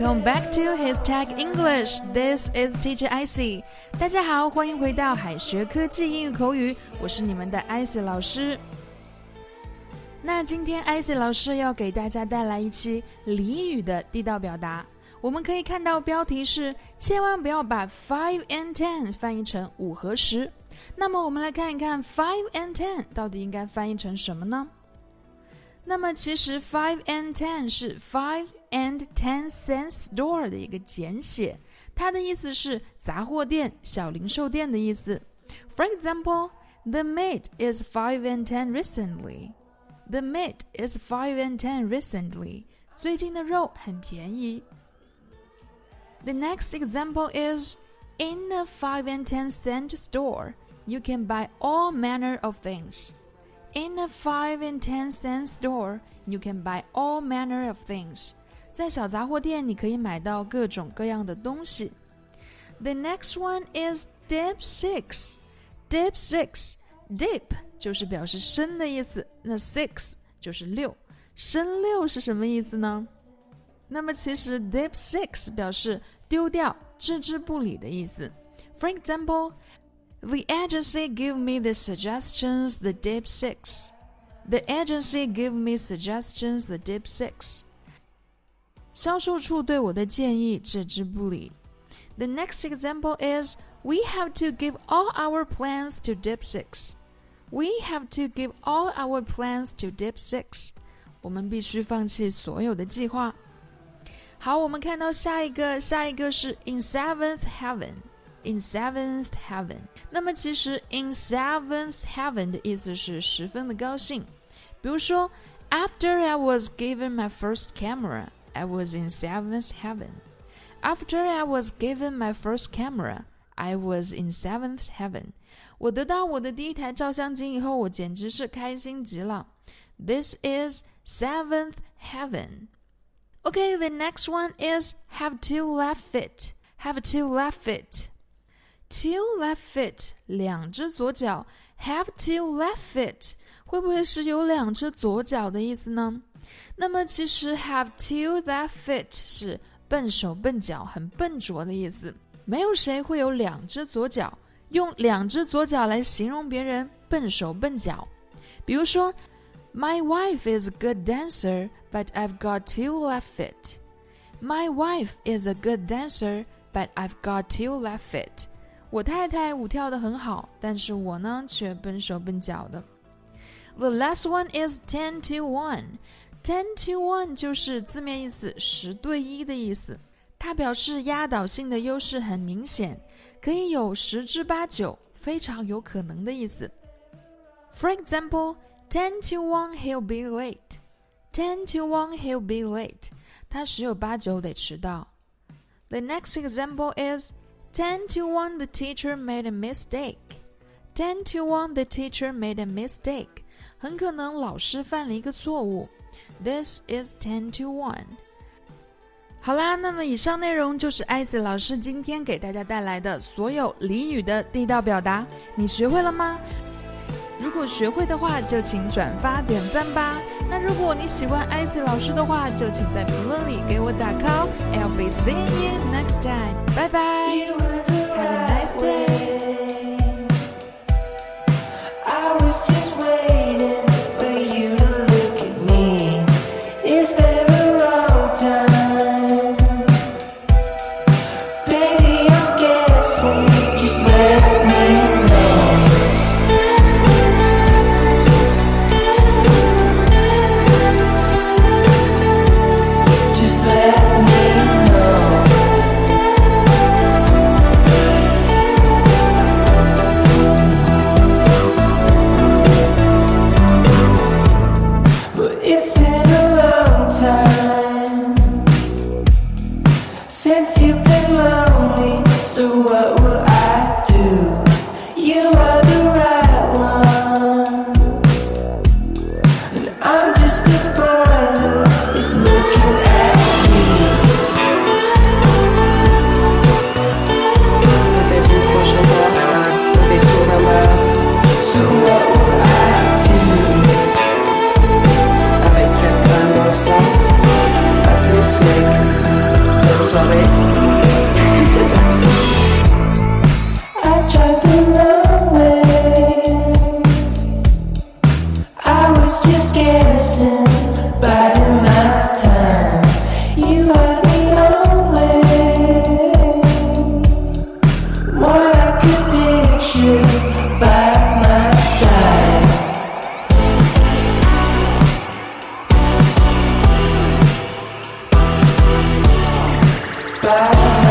Welcome back to Hashtag English. This is Teacher Icy. 大家好，欢迎回到海学科技英语口语，我是你们的 Icy 老师。那今天 Icy 老师要给大家带来一期俚语的地道表达。我们可以看到标题是千万不要把 5 and 10翻译成5和10。那么我们来看一看 5 and 10到底应该翻译成什么呢？那么其实 5 and 10是 5 and 10 cent store 的一个简写，它的意思是杂货店、小零售店的意思。For example, the meat is 5 and 10 recently. The meat is 5 and 10 recently. 最近的肉很便宜。The next example is, in a 5 and 10 cent store, you can buy all manner of things.In a 5 and 10 cent store, you can buy all manner of things. 在小杂货店，你可以买到各种各样的东西。The next one is dip 6. Dip 6. Dip 就是表示深的意思，那 6 就是6。深6是什么意思呢？那么其实 dip 6表示丢掉、置之不理的意思。For example,The agency gave me the suggestions, the dip 6. The agency gave me suggestions, the dip 6. 销售处对我的建议置之不理。The next example is, we have to give all our plans to dip 6. We have to give all our plans to dip 6. 我们必须放弃所有的计划。好，我们看到下一个是 in seventh heaven.In seventh heaven. 那么其实 in seventh heaven 的意思是十分的高兴。比如说 After I was given my first camera, I was in seventh heaven. After I was given my first camera, I was in seventh heaven. 我得到我的第一台照相机以后，我简直是开心极了。This is seventh heaven. Okay, the next one is have two left feet. Have two left feet.Two left feet, 两只左脚 Have two left feet 会不会是有两只左脚的意思呢？那么其实 have two left feet 是笨手笨脚很笨拙的意思，没有谁会有两只左脚，用两只左脚来形容别人笨手笨脚。比如说 My wife is a good dancer, but I've got two left feet. My wife is a good dancer, but I've got two left feet.我太太舞跳得很好，但是我呢却笨手笨脚的。The last one is 10 to 1. 10 to 1就是字面意思10对1的意思，它表示压倒性的优势很明显，可以有10之8九，非常有可能的意思。For example, 10 to 1 he'll be late. 10 to 1 he'll be late. 他10有8九得迟到。The next example is10 to 1 the teacher made a mistake. 10 to 1 the teacher made a mistake. 很可能老师犯了一个错误。This is 10 to 1. 好啦，那么以上内容就是艾斯老师今天给大家带来的所有俚语的地道表达，你学会了吗？如果学会的话，就请转发点赞吧。那如果你喜欢艾斯老师的话，就请在评论里给我打 call. I'll be seeing you next time. Bye bye. Have a nice day. I was just waiting for you to look at me. Is there a wrong time? Baby, I'm guessing. Just let me since you've been lonely, so what will I do? You are the right one, and I'm just the boy who is looking at you. Peut-être une prochaine fois, des tours à l'heure. So what will I do? Avec quelqu'un ensemble, à plus mec. sorry. I tried the wrong way. I was just guessing, biding my time. You are the only, more like a picture by my side. By